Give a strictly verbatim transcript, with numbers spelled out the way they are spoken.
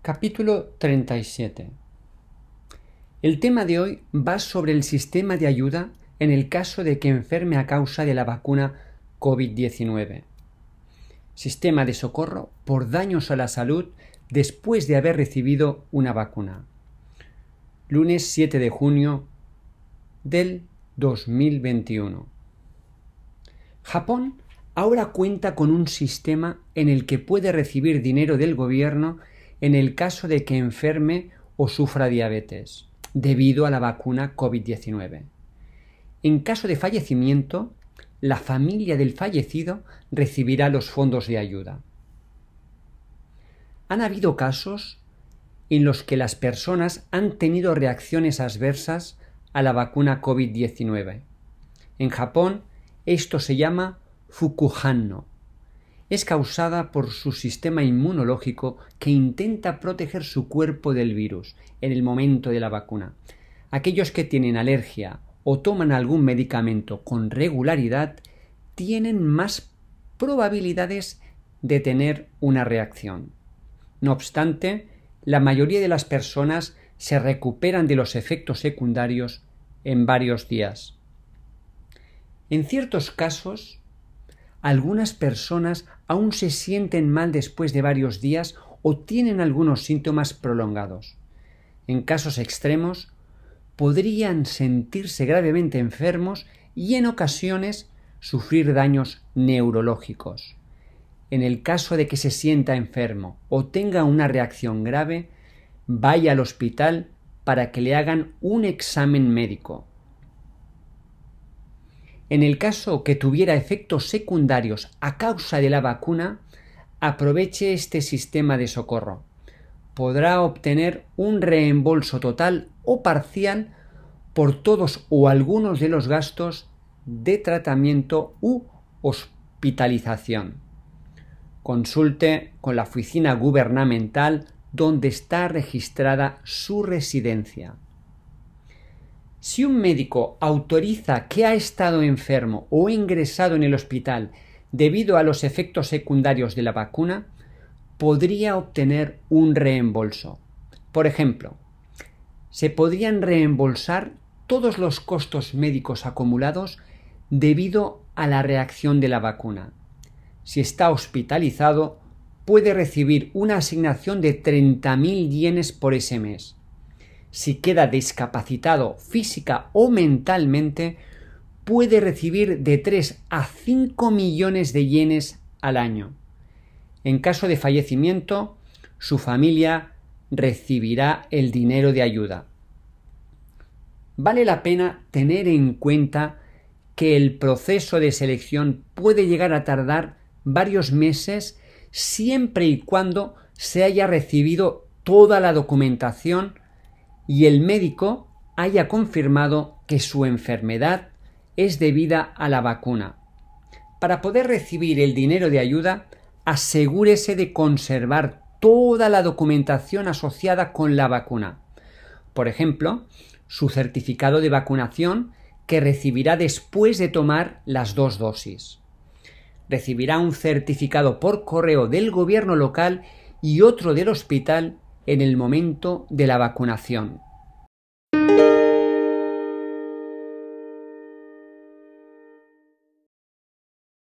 Capítulo treinta y siete. El tema de hoy va sobre el sistema de ayuda en el caso de que enferme a causa de la vacuna COVID diecinueve. Sistema de socorro por daños a la salud después de haber recibido una vacuna. Lunes siete de junio del dos mil veintiuno. Japón ahora cuenta con un sistema en el que puede recibir dinero del gobierno en el caso de que enferme o sufra diabetes, debido a la vacuna COVID diecinueve. En caso de fallecimiento, la familia del fallecido recibirá los fondos de ayuda. Han habido casos en los que las personas han tenido reacciones adversas a la vacuna COVID diecinueve. En Japón, esto se llama Fukuhanno. Es causada por su sistema inmunológico que intenta proteger su cuerpo del virus en el momento de la vacuna. Aquellos que tienen alergia o toman algún medicamento con regularidad tienen más probabilidades de tener una reacción. No obstante, la mayoría de las personas se recuperan de los efectos secundarios en varios días. En ciertos casos, algunas personas aún se sienten mal después de varios días o tienen algunos síntomas prolongados. En casos extremos, podrían sentirse gravemente enfermos y en ocasiones sufrir daños neurológicos. En el caso de que se sienta enfermo o tenga una reacción grave, vaya al hospital para que le hagan un examen médico. En el caso que tuviera efectos secundarios a causa de la vacuna, aproveche este sistema de socorro. Podrá obtener un reembolso total o parcial por todos o algunos de los gastos de tratamiento u hospitalización. Consulte con la oficina gubernamental donde está registrada su residencia. Si un médico autoriza que ha estado enfermo o ingresado en el hospital debido a los efectos secundarios de la vacuna, podría obtener un reembolso. Por ejemplo, se podrían reembolsar todos los costos médicos acumulados debido a la reacción de la vacuna. Si está hospitalizado, puede recibir una asignación de treinta mil yenes por ese mes. Si queda discapacitado física o mentalmente, puede recibir de tres a cinco millones de yenes al año. En caso de fallecimiento, su familia recibirá el dinero de ayuda. Vale la pena tener en cuenta que el proceso de selección puede llegar a tardar varios meses siempre y cuando se haya recibido toda la documentación y el médico haya confirmado que su enfermedad es debida a la vacuna. Para poder recibir el dinero de ayuda, asegúrese de conservar toda la documentación asociada con la vacuna. Por ejemplo, su certificado de vacunación que recibirá después de tomar las dos dosis. Recibirá un certificado por correo del gobierno local y otro del hospital en el momento de la vacunación.